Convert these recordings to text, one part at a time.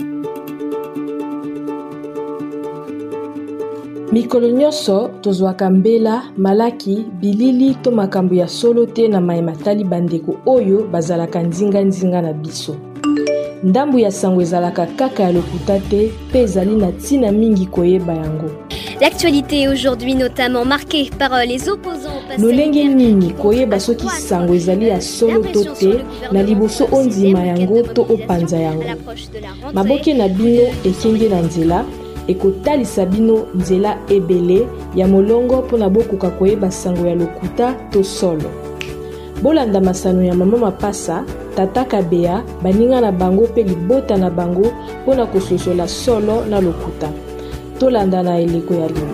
Mikolo nyonso tozwaka mbela, malaki, bilili to makambo ya solo te na mayematali bandeko oyo bazalaka nzinga na biso. Ndambu ya sango ezalaka kaka ya lokuta te pe ezali na ntina mingi koyeba yango. L'actualité aujourd'hui notamment marquée par les opposants au passé. Lolenge nini koyeba soki sango ezali ya solo to te na liboso ondima yango to opanza yango. Maboke na bino ekenge na nzela ekotalisa bino nzela ebele ya molongo mpona bokoka koyeba sango ya lokuta to solo. Bolanda masano ya mama Mapasa, tata Kabea, baninga na bango pe libota na bango mpona kososola solo na lokuta. Tolanda na eleko ya lelo.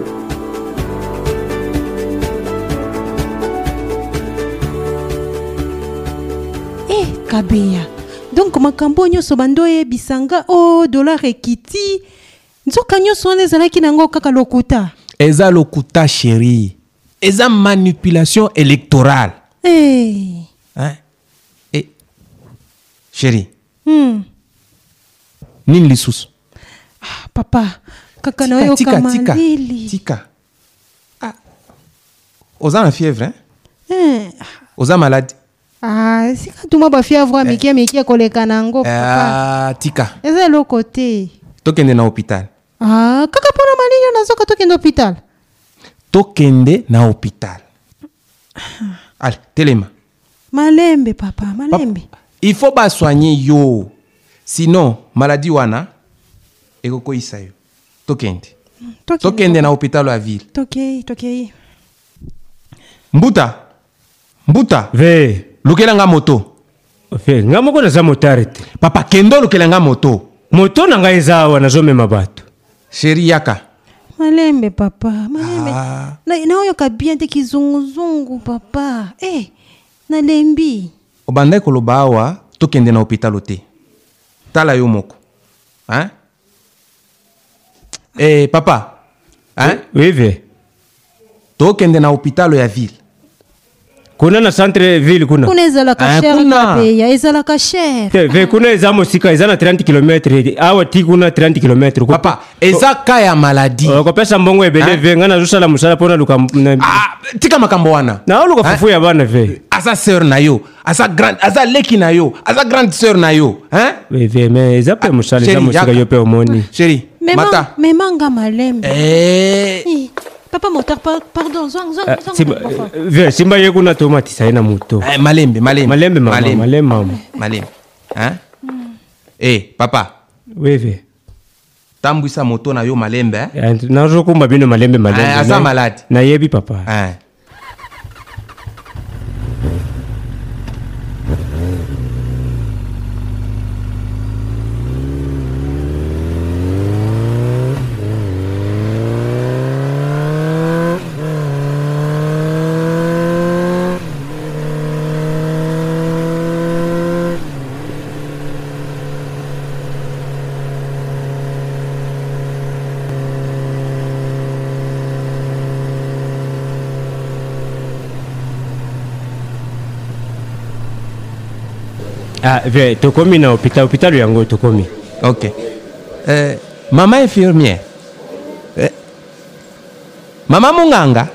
Kabea. Donc makambo nyonso bandoye bisanga dollar ekiti. Nzoka nyonso wana ezalaki nango kaka lokuta. Eza lokuta chérie. Eza manipulation électorale. Chérie. Nini lisusu? Papa, kaka na yo kama lili. Tika. Oza na fièvre, hein? Oza malade. Sika tuma ba fièvre mikie koleka nango papa. Tika. Eza lo côté. Tokende na hôpital. Kaka pona malili nazoka tokende hôpital. Tokende na hôpital. Allez, telema. Malembe papa, malembe. Papa, il faut pas soigner yo. Sinon, maladie wana ekoko isa yo. Tokende. Tokende na hôpital à ville. Tokei. Mbuta. Ve. Lukela nga moto. Ve, nga moko na za motarete. Papa, kendo lukela nga moto. Moto na nga ezawa na zome mabato. Chérie yaka. Malembe papa, malembe. Na oyo kabien te kizunguzungu papa. Na lembi. Obanda koloba awa tokende na hôpital te. Tala yo moko. Hein? Papa. Hein? Oui, ve. Tokende na hôpital ya ville. Kuna na centre ville kuna. Kuna ezalaka cher kapeya, ezalaka cher. Ve kuna ezamo sika ezana 30 km. Awa ti kuna 30 km. Papa, ezaka ya maladie. Ko pesa mbongo ebele ve ngana zusala musala pona luka. Tika makambo wana. Na luka fufu ya bana ve. Asa sœur na yo, asa grande, asa leki na yo, asa grande sœur na yo, hein? Ve mais ezape musala za musika yo pe omoni. Chérie, mata. Memanga malembe. Papa moteur, pardon, zong. Simba ye kuna tomati saina moto. Malembe. Malembe. Hein? Papa. Oui, ve. Tambwisa moto na yo malembe, hein? Na zo kumba bino malembe. Asa malade. Na yebi papa. Ve, tokomi na hôpital yango tokomi. Ok. Maman infirmière. Maman Munganga.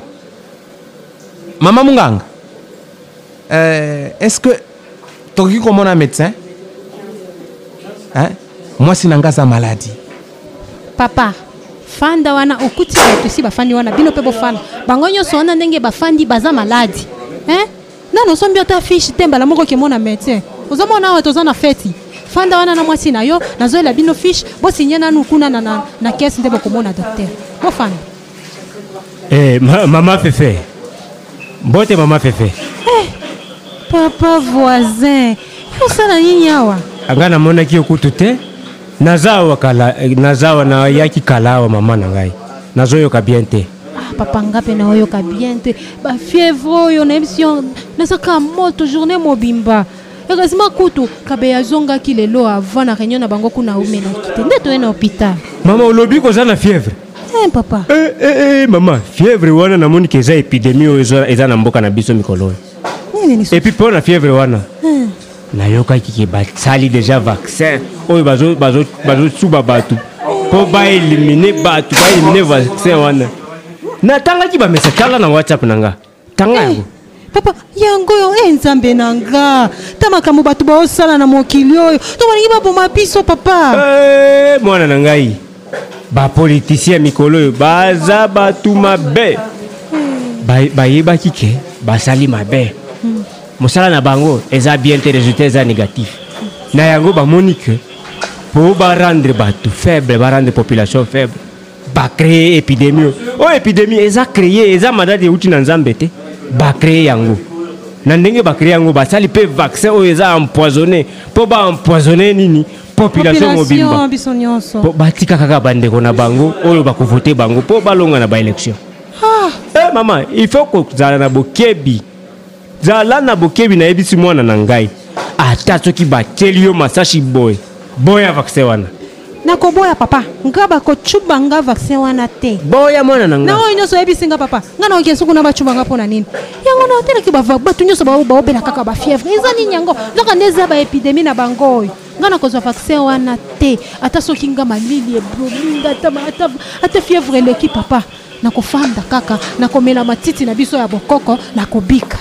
Est-ce que toki comme un médecin? Hein? Moi si nangaza maladie. Papa, fanda wana okuti wetu si bafandi wana bino pe bofana. Bango nyonso wana ndenge bafandi baza maladi. Hein? Nano sombi ota fiche temba la moko ke mona médecin. Ozomona wa tozana feti. Fanda wana na mwasi na yo nazoela bino fiche bo signer na nukuna na caisse ndebo komona docteur. Bo fanda. Maman Fefe. Mbote maman Fefe. Papa voisin. Usana nini hawa? Angana mona ki okutu te. Nazawa na yaki kalawa mama na ngai. Nazoyo ka bien te. Papa ngape na oyo ka bien te. Ba fièvre yo na émission na saka moto journée mobimba. Heureusement kutu Kabea zonga ki lelo avant na réunion na bango kuna umena kite. Ndeto na hôpital. Mama olobi ko za na fièvre. Papa. Maman, fièvre wana na moni keza epidémie eza na mboka na biso mikolo. Et puis pour la fièvre wana. nayokaki ke basali déjà vaccin oyo bazosuba bato mpo baelimine bato baelimine vaccin wana natangaki bamessage tala na whatsapp na nga tanga yango papa yango yo nzambe na nga ta makambo bato baosala na mokili oyo to balingi baboma biso papa mwana na ngai bapoliticien mikolo oyo baza bato mabe bayebaki ke basali mabe mosala na bango eza bien te résultat eza négatif na yango bamoni ke po barendre bato faible barendre population faible bacréer épidémie oyo épidémie eza créé eza maladi euti na nzambe te bacréer yango na ndenge bacréer yango basali mpe vaccin oyo eza empoisonné mpo baempoisonné nini population mobimba po batika kaka bandeko na bango oyo bakovote bango mpo balonga na baélection mama il faut kozala na bokebi zala na bokebi na yebisi mwana na ngai ata soki bateli yo masashi boya vaccin wana nakoboya papa nga bakocuba nga vaccin wana te boya mwana na nga na oyo nyonso oyebisi nga papa nga na oke suku na bacuba nga mpona nini yango na otelaki bato nyonso baobela kaka bafièvre eza nini yango nzoka nde eza baépidémie na bango oyo nga na kozwa vaccin wana te ata soki nga malili eblominga ata fièvre eleki papa nakofanda kaka nakomela matiti na biso ya bokoko nakobika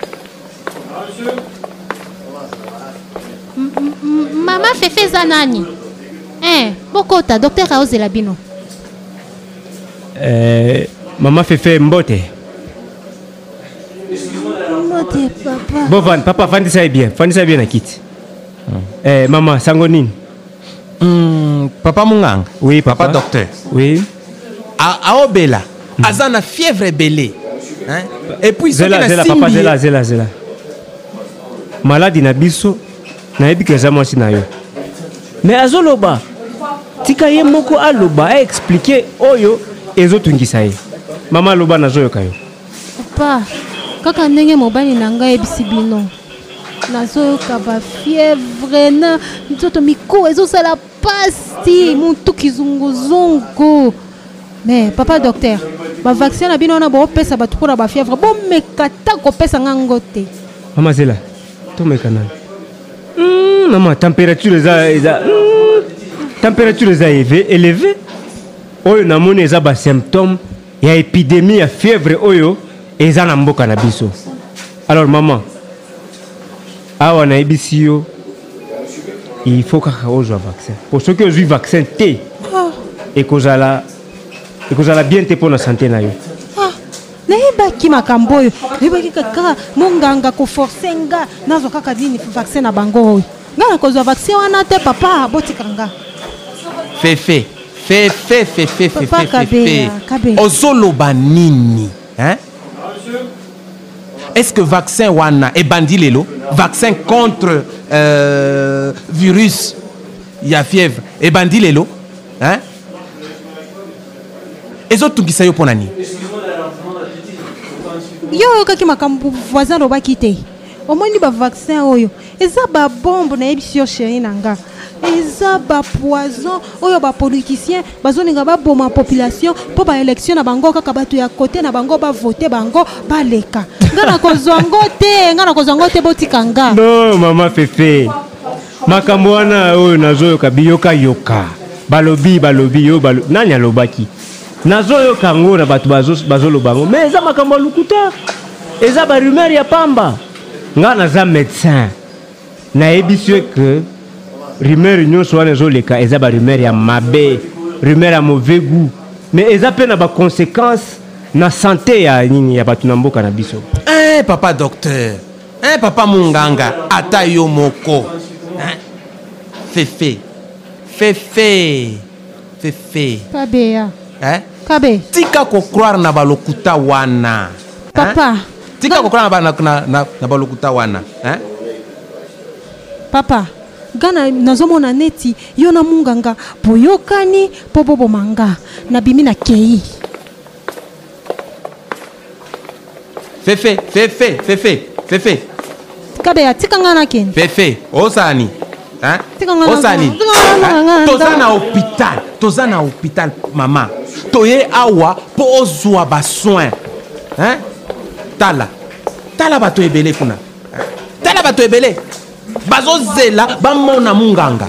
Mama Fefe za nani? Bokota docteur aozela bino. Mama Fefe mbote. Mbote papa. Bovan papa fandisa bien na kiti. Mama sango nini? Papa Munganga. Oui papa docteur. Oui. Aobela azana fièvre belé. Hein? Et puis zela papa zela. Maladi na biso na yebi keza mwasi na yo. Mais azoloba tika ye moko aloba a expliquer oyo ezotungisa ye. Mama loba nazoyoka yo. Papa kaka ndenge mobali na ngai ebisi bino. Nazoyoka ba fièvre na nzoto miku ezosala pasti muntu kizunguzungu. Mais papa docteur ba vaccin na bino na bo pesa batu pona ba fièvre bo mekata ko pesa ngango te. Mama zela tomekana. Maman température élevée oyo namoni eza ba symptômes ya épidémie ya fièvre oyo eza na mboka na biso. Alors maman awa na ebisi yo il faut kaka ozwa vaccin pour ceux qui ont eu vaccin te et kozala bien te pour la santé na yo. Nayebaki makambo oyo nayebaki kaka monganga koforce nga nazwa kaka dini vaccin na bango oyo nga nakozwa vaccin wana te papa botika nga Fefe ozoloba nini hein? Est-ce que vaccin wana ebandi lelo vaccin contre virus ya fièvre ebandi lelo hein? Ezotungisa yo pona nini yo kaki makambo voisin lobaki te omoni ba vaccin oyo eza ba bombe na yebisi yo chéri nanga eza ba poison oyo ba politicien bazoninga ba boma population po ba élection na bango kaka bato ya côté na bango ba voter bango ba leka nga na kozwango te botika nga. Non mama Fefe makambo wana oyo nazoyoka biyoka balobi yo nani alobaki nazoyoka ngo na bato bazolobango mais eza makambo lukuta eza ba rumeur ya pamba nga naza médecin nayebisi que rumeur nyonso wana ezoleka eza ba rumeur ya mabe rumeur ya mauvais goût mais eza pe na ba conséquences na santé ya nini ya bato na mboka na biso. Papa docteur papa Munganga ata yo moko Fefe Kabea hein? Kabe Tika ko croire na balokuta wana. Papa. Tika ko croire na balokuta wana. Hein? Papa. Gana nazomona neti yo na munganga boyokani pobobo manga na bimi na kei. Fefe. Kabea tika ngana ken. Fefe, osani. Hein? Osani. Toza na hôpital mama. Toye awa po ozwa ba soin. Hein? Tala bato ebele kuna. Tala bato ebele. bazozela bamona munganga.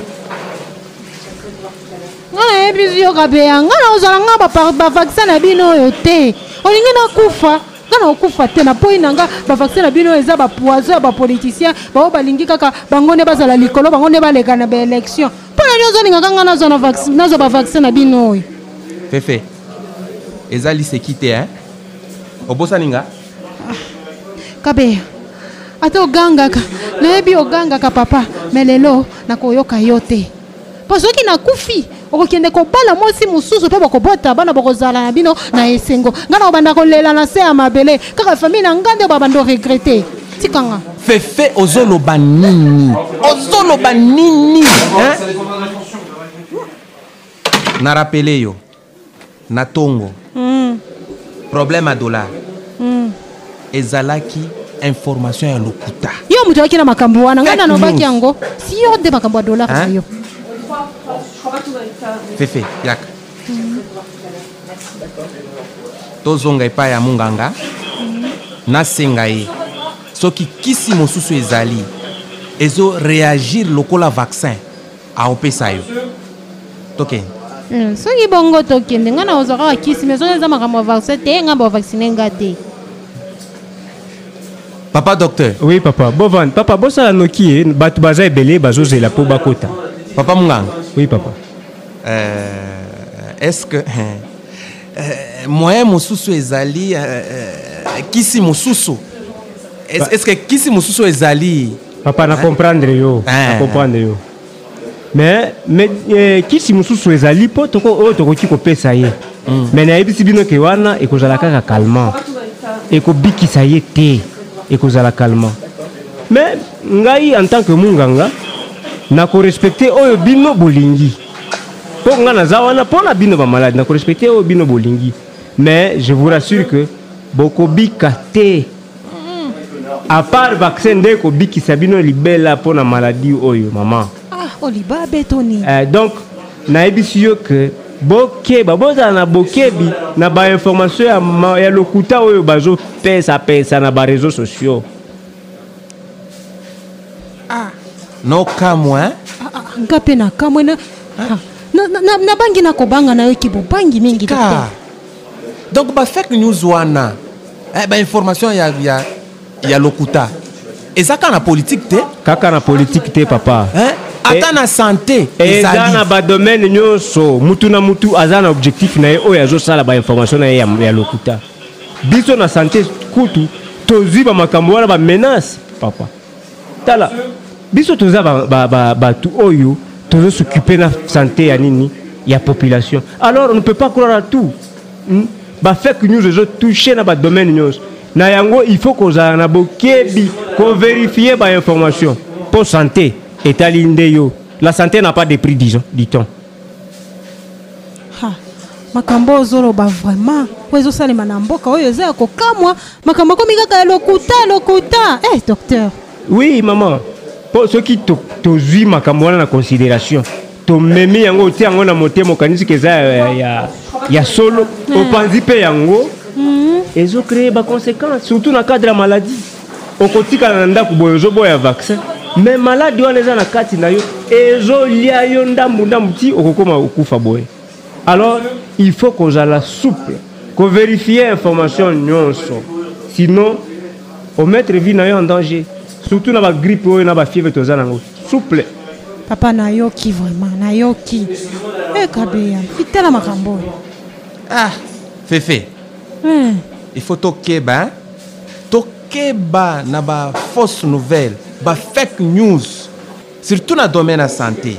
Ngana yebi yo kabeya ngana ozala nga ba vaccin na bino oyo te. Olingi na kufa. Ngana okufa te na poi nanga ba vaccin na bino eza ba poison ba politicien ba balingi kaka bangone bazala likolo bangone baleka na ba élection. Pona nyozo ninga ngana zo na vaccin nazo ba vaccin na bino oyo. Fefe. Ezali sekite hein. Obosa ninga? Kabeya. Ata oganga ka. Na yebi oganga ka papa. Melelo na koyoka yote. Pasoki na kufi. Okokende kobala mosi mususu pe bakobota bana bakozala na bino na esengo. Ngana obanda kolela na se ya mabele. Kaka famille na ngande babando regretter. Tikanga. Fefe ozoloba nini? Ozoloba nini? Hein? Na rappelé yo. Na tongo. Problème à dollar. Ezalaki information ya lokuta. Yo mutu akina makambo wana ngana no baki yango. Si yo de makambo ya dollar hein? Yo. Fefe yaka. Tozonga epa ya munganga. Na senga ye. Soki kisi mosusu ezali. Ezo réagir lokola vaccin. A opesa yo. Toke. Soki bongo tokende ngana ozaka kisi mais eza makambo vaccin te ngamba vacciner ngate. Papa docteur. Oui papa. Bovan, papa bosa noki batu baza ebele bazozela po bakota. Papa munganga. Oui papa. Est-ce que moyen mosusu ezali kisi mosusu est-ce que kisi mosusu ezali papa na comprendre yo na comprendre yo mais kisi mosusu ezali po toko tokoki kopesa ye mais na yebisi bino ke wana ekozala kaka calmant ekobikisa ye te ekozala calmant mais ngai en tant que munganga na ko respecter oyo bino bolingi pour nga nazawana pour la bino ba malade na ko respecter oyo bino bolingi mais je vous rassure que bokobika te à part vaccin de kobikisa bino libela pour la maladie oyo maman oliba betoni donc na ebisi yo que bokeba boza na bokebi na ba information ya lokuta oyo bazo pesa na ba réseaux sociaux no kamwa ngape na kamwe na bangi na kobanga na yo kibo bangi mingi te donc ba fake news wana ba information ya lokuta ezaka na politique te kaka na politique te papa ata na santé ezali na ba domaine nyonso mutu na mutu azana objectif na ye oyo azosala ba information na ye ya lokuta biso na santé kutu tozi ba makambo wana ba menace papa tala biso toza batu oyo tozo s'occuper na santé ya nini ya population alors on ne peut pas croire à tout ba fake news ezo toucher na ba domaine nyonso na yango il faut qu'on a na bokebi qu'on vérifie ba information pour santé etali ndeyo la santé n'a pas de prix dit-on makambo ozoloba vraiment ozo salema na mboka oyo eza kokamwa makambo komi kaka lokuta docteur. Oui maman pour ceux qui tozui makambo wana na considération to memi yango ti yango na motema kanisi keza ya solo opanzi pe yango ezo créer ba conséquences surtout na cadre de la maladie okotika na ndako boyo boya vaccin mais maladie wana eza na kati na yo ezo lia yo ndambu ti okokoma okufa boye alors il faut qu'on soit la souple qu'on vérifie information nyonso sinon on mettre vie na yo en danger surtout na ba grippe ou na ba fièvre toza nango souple papa na yoki vraiment na yoki kabeya itela makambo fefe il faut tokeba na ba fausse nouvelle ba fake news surtout na domaine de la santé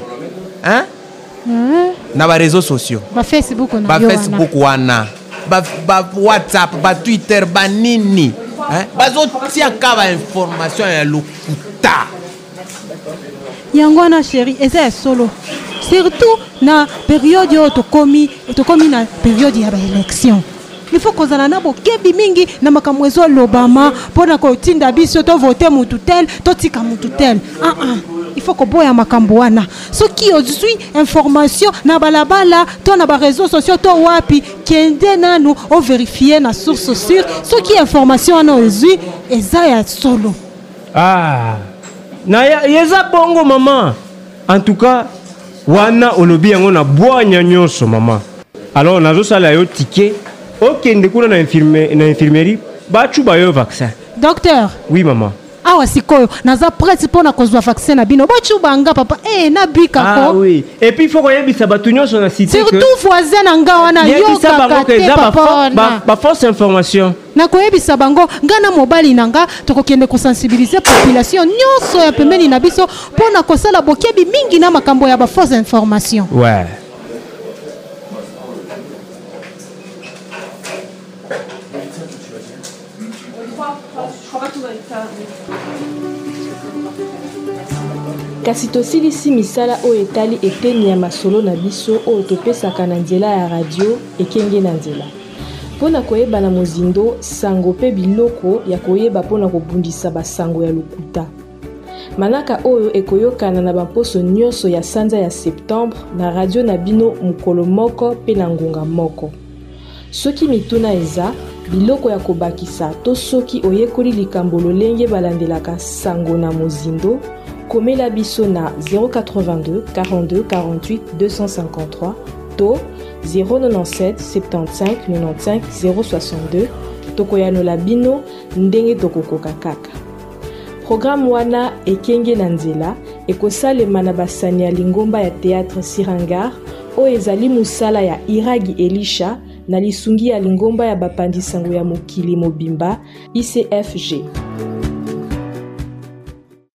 na ba réseaux sociaux ba Facebook wana ba WhatsApp ba Twitter ba nini bazotia kaba information ya lokuta yango na chérie eza solo surtout na période yo tokomi na période ya ba élection il faut kozala na bokebi mingi na makambo ezo lobama pona kotinda biso to voter mututel to tika mututel il faut koboya makambo wana soki ozui information na balabala to na ba réseaux sociaux to wapi kende nanu o vérifier na source sûre soki information wana ozui eza ya solo na yeza bongo mama. En tout cas, wana olobi yango na boanya nyonso mama. Alors nazo sala yo ticket. OK, ndekuna na infirmerie, ba chuba yo vaccin. Docteur. Oui maman. Awa sikoyo naza prête pour na kozwa vaccin na bino. Ba chuba nga papa. Na bika ko. Ah oui. Et puis faut koyebisa batu nyonso na cité que surtout voisin na nga wana yo papa. Ba fausse information. Na koyebisa bango ngana mobali nanga tokokende ko sensibiliser population nyonso ya pembeni na biso pona kosala bokebi mingi na makambo ya ba fausse information. Ouais. kasi tosilisi misala oyo etali eteni ya masolo na biso oyo topesaka na nzela ya radio ekenge na nzela mpona koyeba na mozindo sango mpe biloko ya koyeba mpona kobundisa basango ya lokuta manaka oyo ekoyokana na bamposo nyonso ya sanza ya septembre na radio na bino mokolo moko mpe na ngonga moko soki mituna eza biloko ya kobakisa to soki oyekoli likambo lolenge balandelaka sango na mozindo komela biso na 082 42 48 253 to 097 75 95 062 tokoyanola bino ndenge tokokoka kaka. Programme wana ekenge na nzela ekosalema na basani ya lingomba ya théâtre Sirangar oyo ezali musala ya Iragi Elisha na lisungi ya lingomba ya bapandisango ya mokili mobimba ICFG.